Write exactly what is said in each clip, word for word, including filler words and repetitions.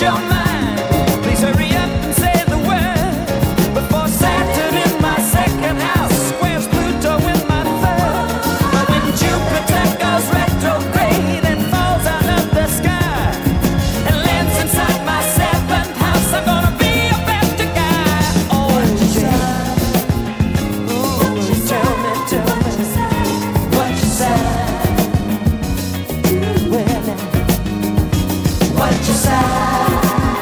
What you say?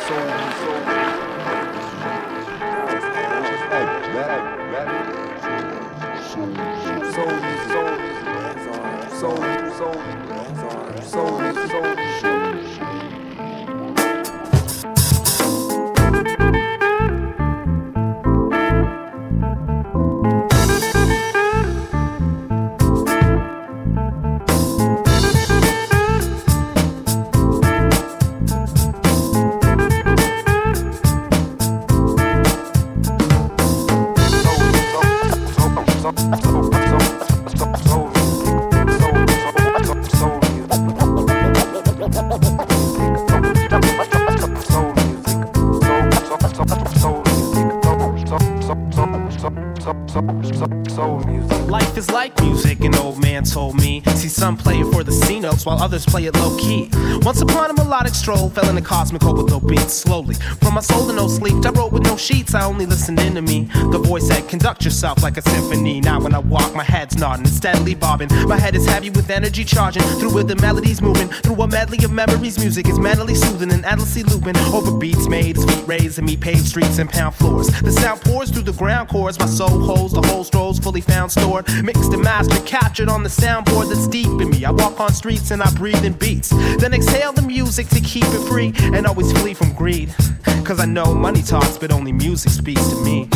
Life is like music, an old man told me. See, some play it for the C notes while others play it low key. Once upon a melodic stroll, fell in a cosmic hole with no beats. Slowly, from my soul to no sleep, I wrote with no sheets, I only listened into me. The voice said, conduct yourself like a symphony. Now when I walk, my head's nodding and steadily bobbing. My head is heavy with energy charging, through with the melodies moving. Through a medley of memories, music is mentally soothing and endlessly looping. Over beats made, his feet raised, and me paved streets and pound floors. The sound pours through the ground chords, my soul holds the whole strolls fully found stored. Mixed and mastered, captured on the soundboard that's deep in me. I walk on streets and I breathe in beats. Then exhale the music to keep it free and always flee from greed. Cause I know money talks, but only music speaks to me.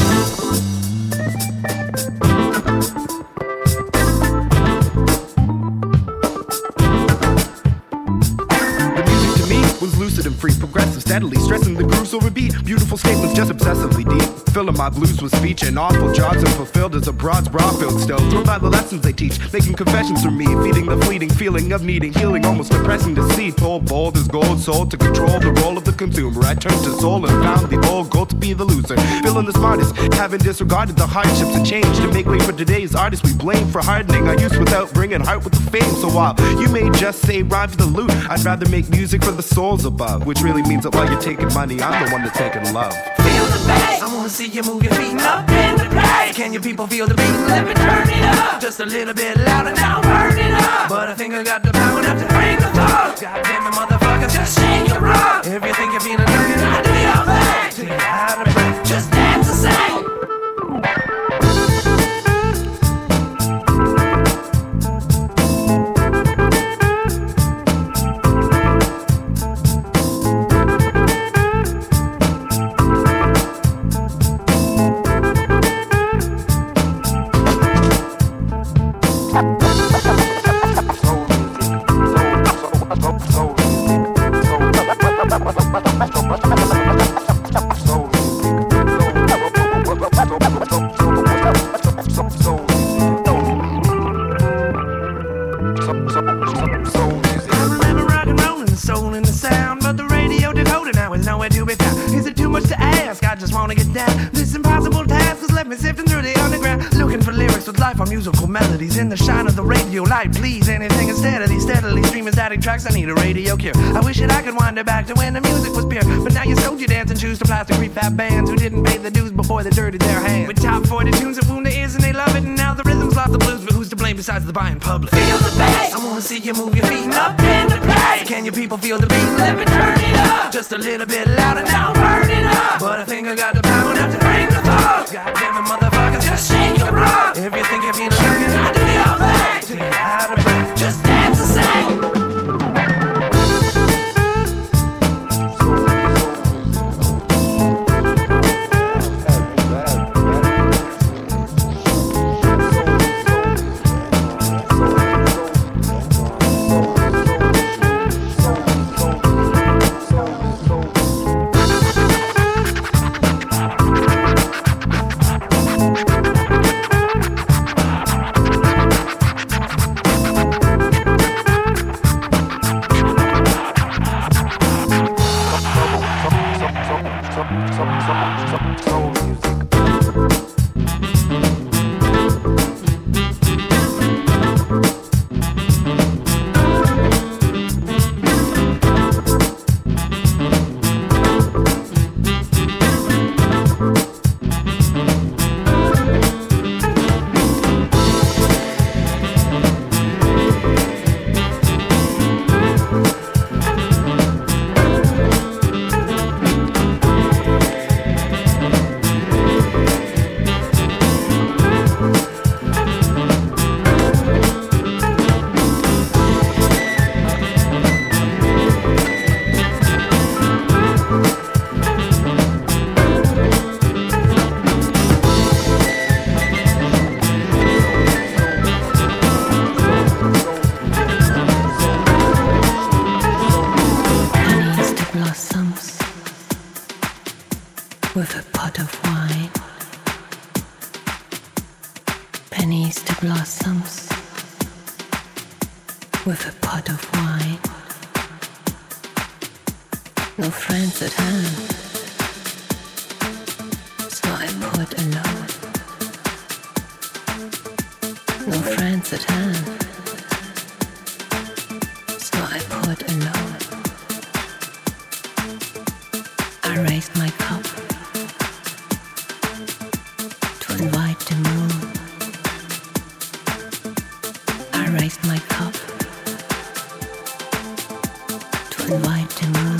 Was lucid and free, progressive, steadily stressing the grooves over beat. Beautiful statements, just obsessively deep. Filling my blues with speech and awful jobs unfulfilled as a broad's bra filled still. Thrilled by the lessons they teach, making confessions from me, feeding the fleeting feeling of needing healing, almost depressing to see. Told bold as gold, sold to control the role of the consumer. I turned to soul and found the old goal to be the loser. Feeling the smartest, having disregarded the hardships of change to make way for today's artists. We blame for hardening our youth without bringing heart with the fame. So while you may just say rhyme for the loot, I'd rather make music for the soul above, which really means that while you're taking money, I'm the one that's taking love. Feel the bass, I wanna see you move your feet up in the place. Can you people feel the beat? Let me turn it up, just a little bit louder now, burn it up. But I think I got the power enough to bring the thought. God damn it, motherfuckers, just shake your rock. If you think you're feeling good, I do your thing. Till you're out of breath, just dance and sing. Musical melodies in the shine of the radio light. Please, anything instead of these steadily streaming static tracks. I need a radio cure. I wish that I could wind it back to when the music was pure. But now you sold your dance and choose to plastic prefab bands who didn't pay the dues before they dirtied their hands. With top forty tunes that wound their ears and they love it. And now the rhythm's lost the blues, but who's to blame besides the buying public? Feel the bass, I wanna see you move your feet up in the place. Can you people feel the beat? Let me turn it up, just a little bit louder now, burn it up. But I think I got the power enough to bring the thought. God damn it, motherfuckers, just shake your rock. If you think you're feeling good, I do your thing. Till you're out of breath, just dance and sing. with a pot of wine, pennies to blossoms with a pot of wine, no friends at hand, so I poured alone. No friends at hand, so I poured alone. I raised my cup to invite the moon. I raised my cup to invite the moon.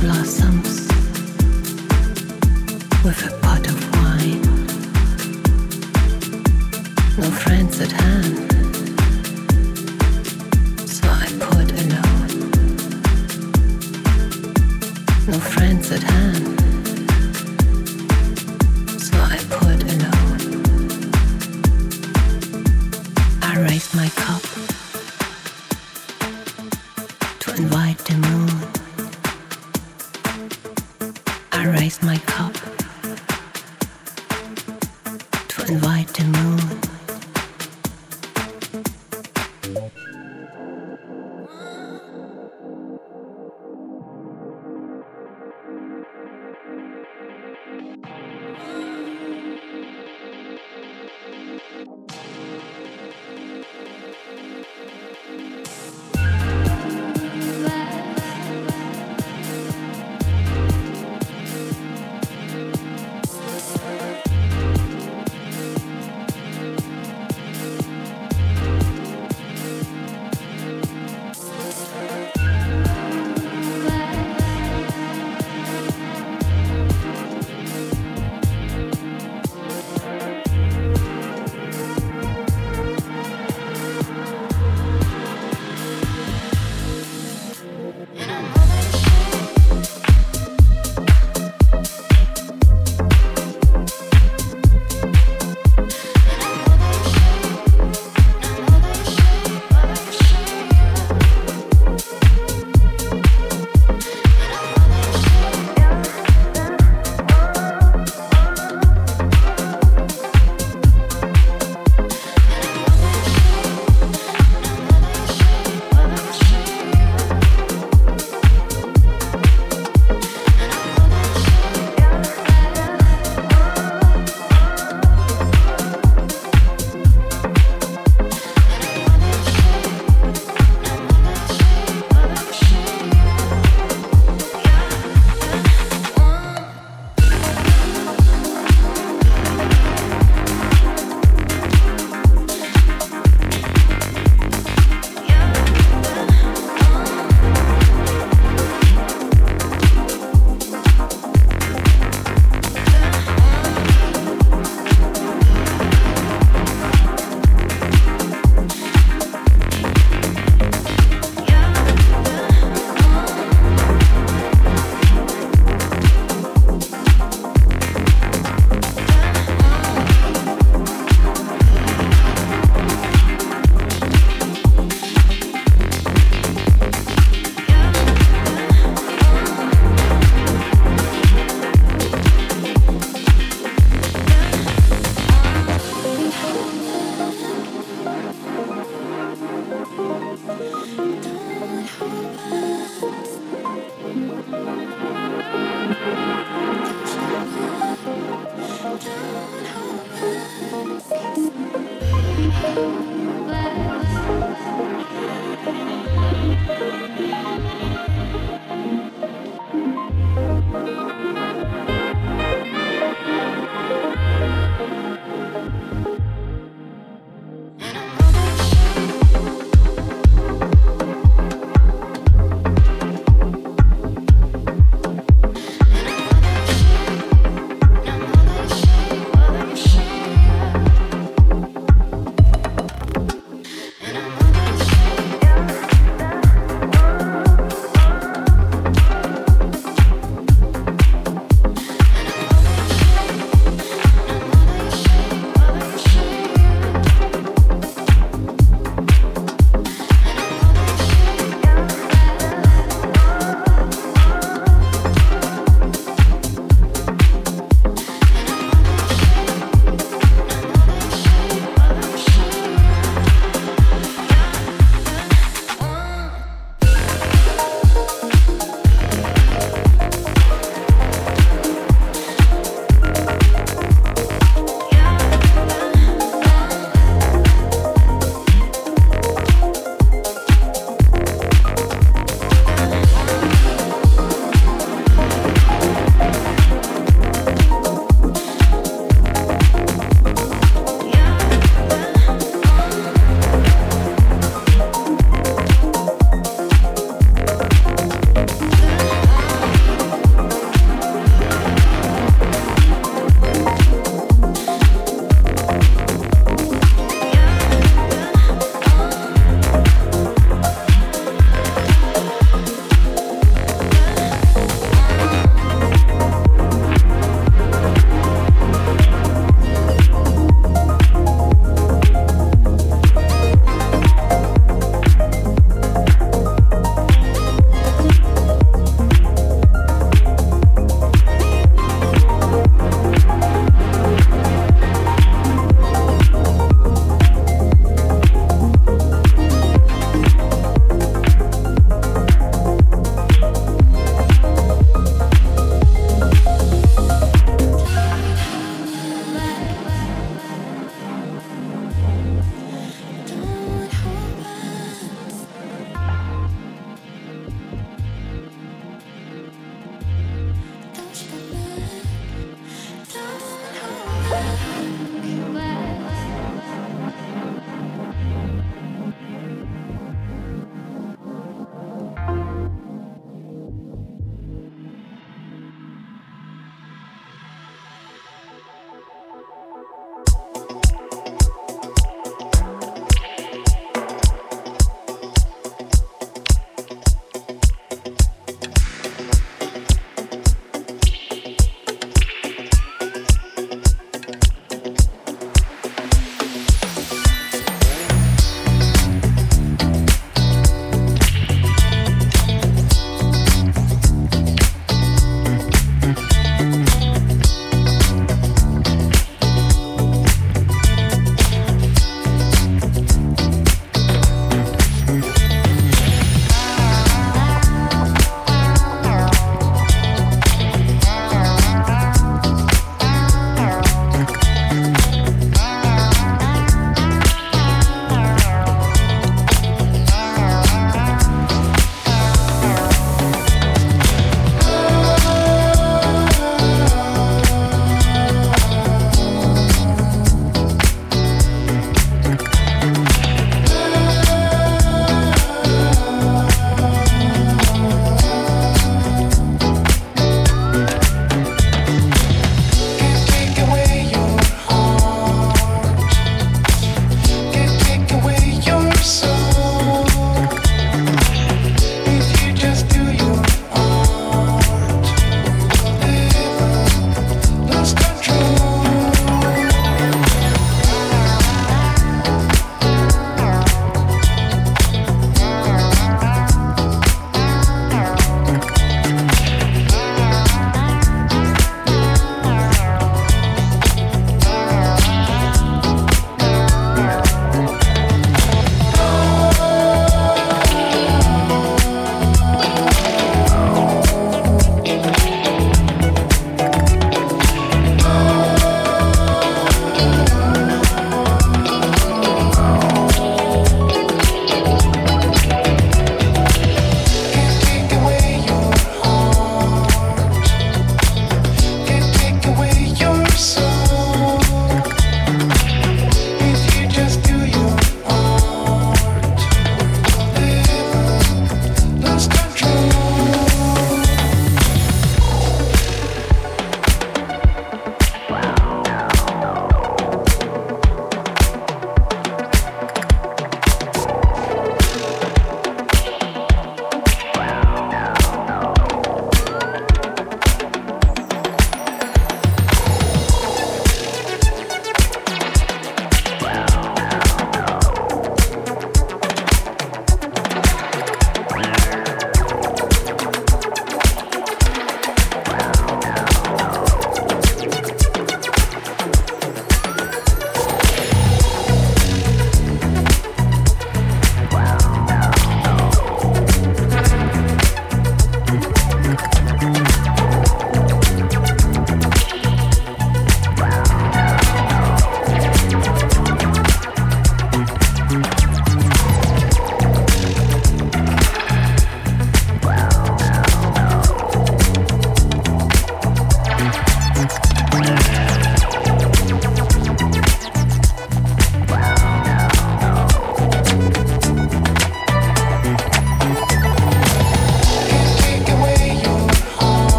blossoms with a pot of wine. No friends at hand, so I put alone. No friends at hand, so I put alone. I raise my cup to invite the moon. I raise my cup to invite the moon.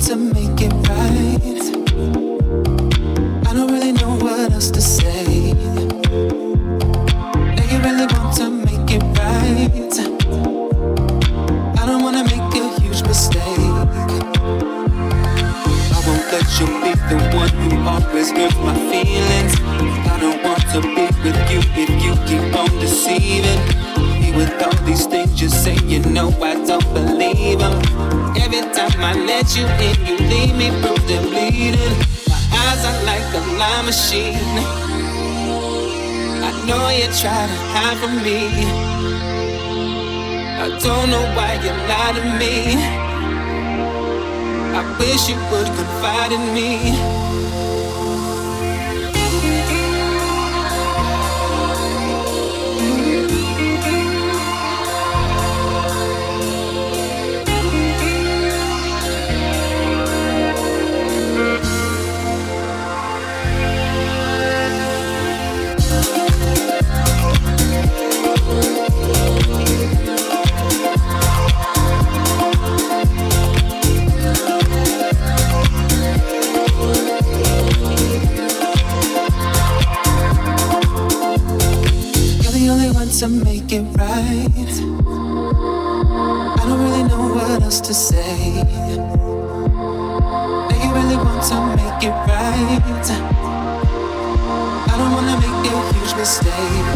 to make it right. I don't really know what else to say. Now you really want to make it right. I don't wanna make a huge mistake. I won't let you be the one who always hurts my feelings. I don't want to be with you if you keep on deceiving me with all these things you say. You know I don't believe them. Every time I let you in, you leave me bruised and bleeding. My eyes are like a lie machine. I know you try to hide from me. I don't know why you lie to me. I wish you would confide in me. To make it right. I don't really know what else to say. Now you really want to make it right. I don't wanna make a huge mistake.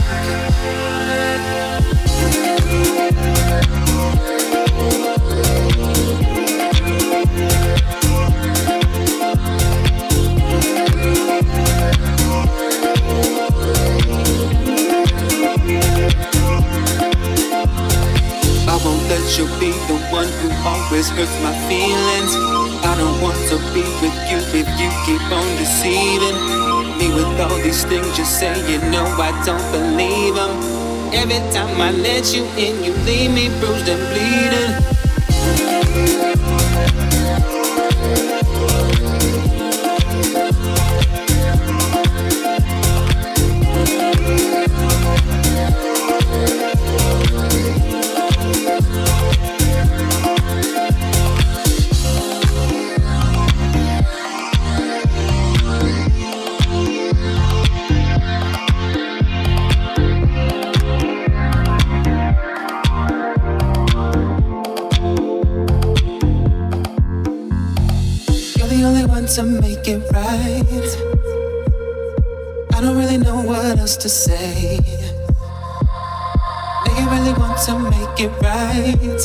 I won't let you be the one who always hurts my feelings. I don't want to be with you if you keep on deceiving me with all these things you say. You know I don't believe them. Every time I let you in, you leave me bruised and bleeding. To make it right. I don't really know what else to say. Now you really want to make it right.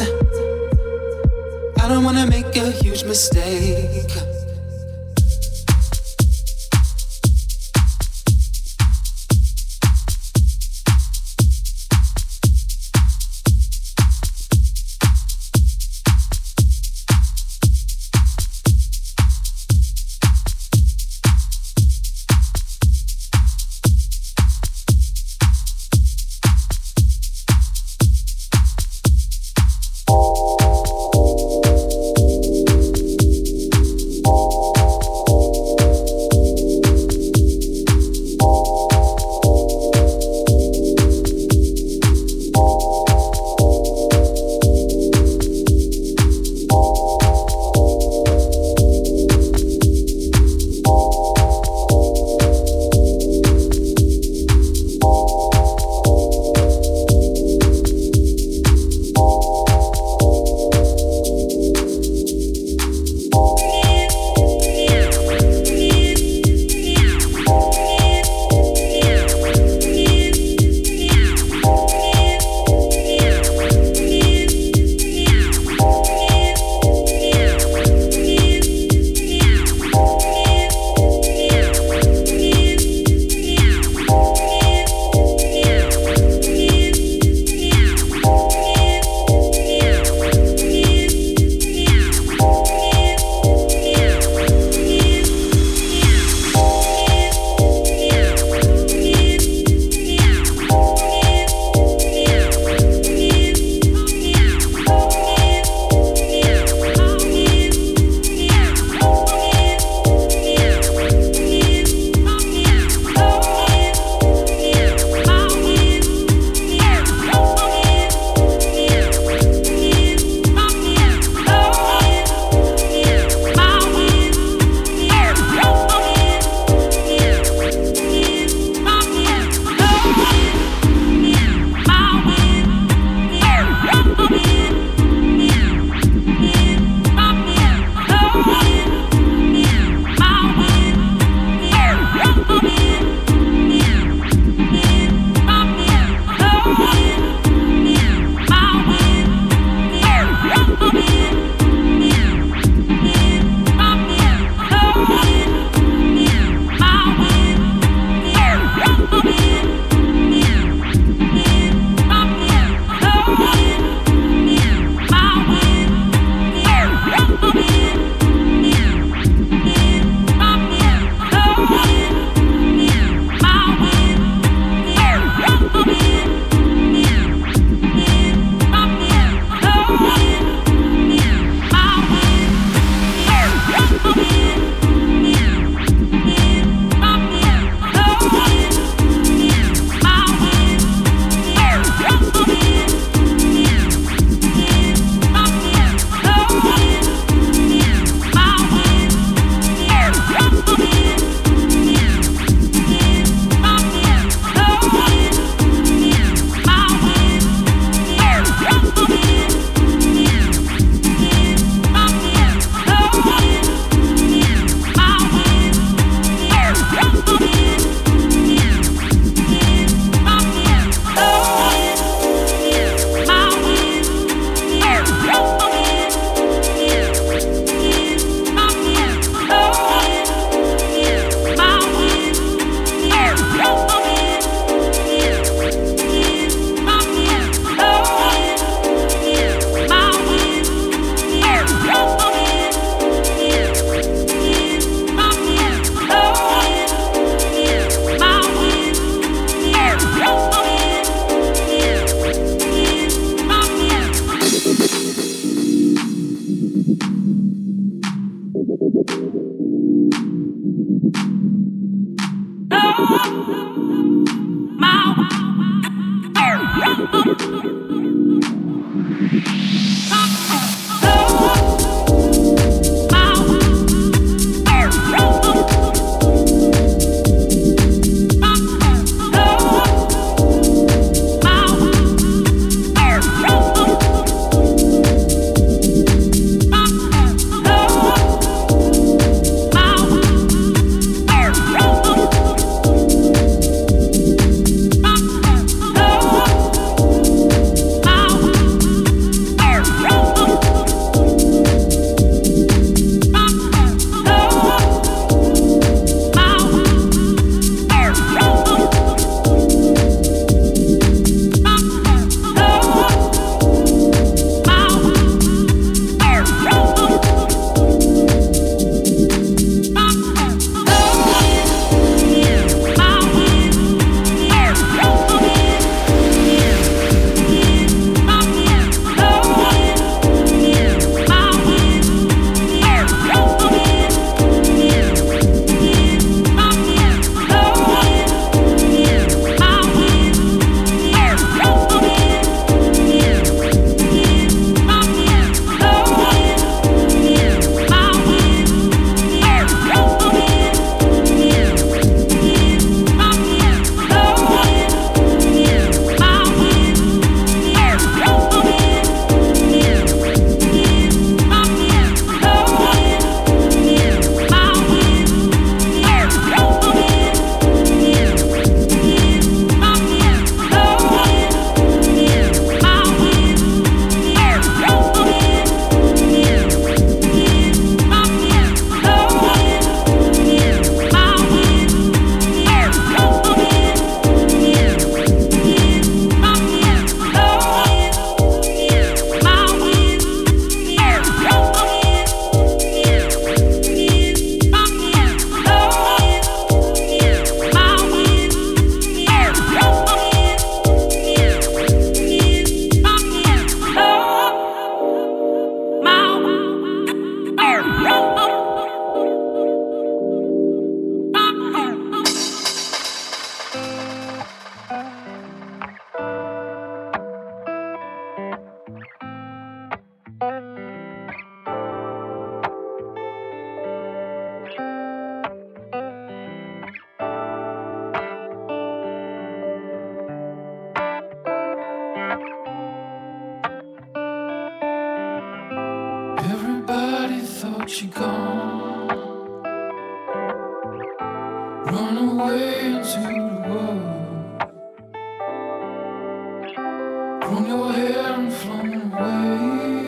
I don't wanna make a huge mistake. She gone, run away into the world, grown your hair and flown away.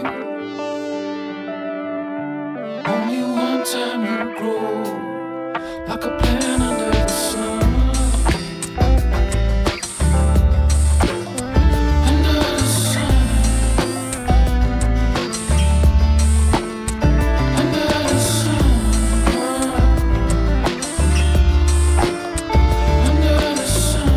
Only one time you grow like a plant under the sun. Sun.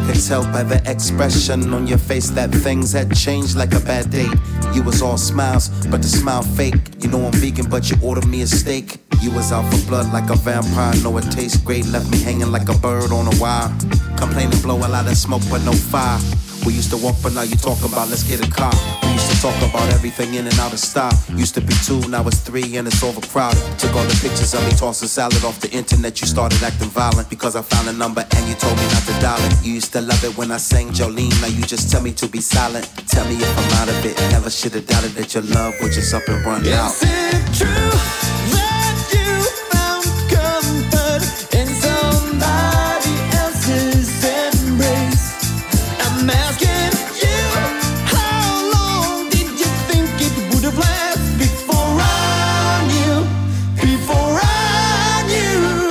could tell by the expression on your face that things had changed like a bad date. You was all smiles, but the smile fake. You know I'm vegan, but you ordered me a steak. You was out for blood like a vampire. Know it tastes great, left me hanging like a bird on a wire. Complaining, blow a lot of smoke, but no fire. We used to walk, but now you talk about let's get a car. We used to talk about everything in and out of stock. Used to be two, now it's three, and it's overcrowded. Took all the pictures of me tossing salad off the internet. You started acting violent because I found a number and you told me not to dial it. You used to love it when I sang Jolene. Now you just tell me to be silent. Tell me if I'm out of it. Never should have doubted that your love would just up and run out. Is it true that you found comfort in somebody else's embrace? I'm asking you, how long did you think it would have lasted before I knew, before I knew?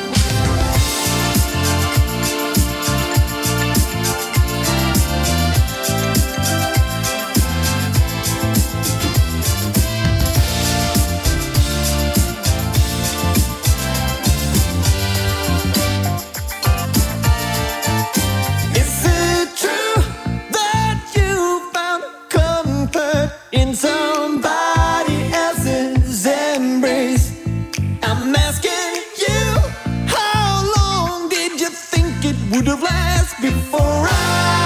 Is it true that you found comfort in somebody else's embrace? I'm asking you, how long did you think it would have lasted before I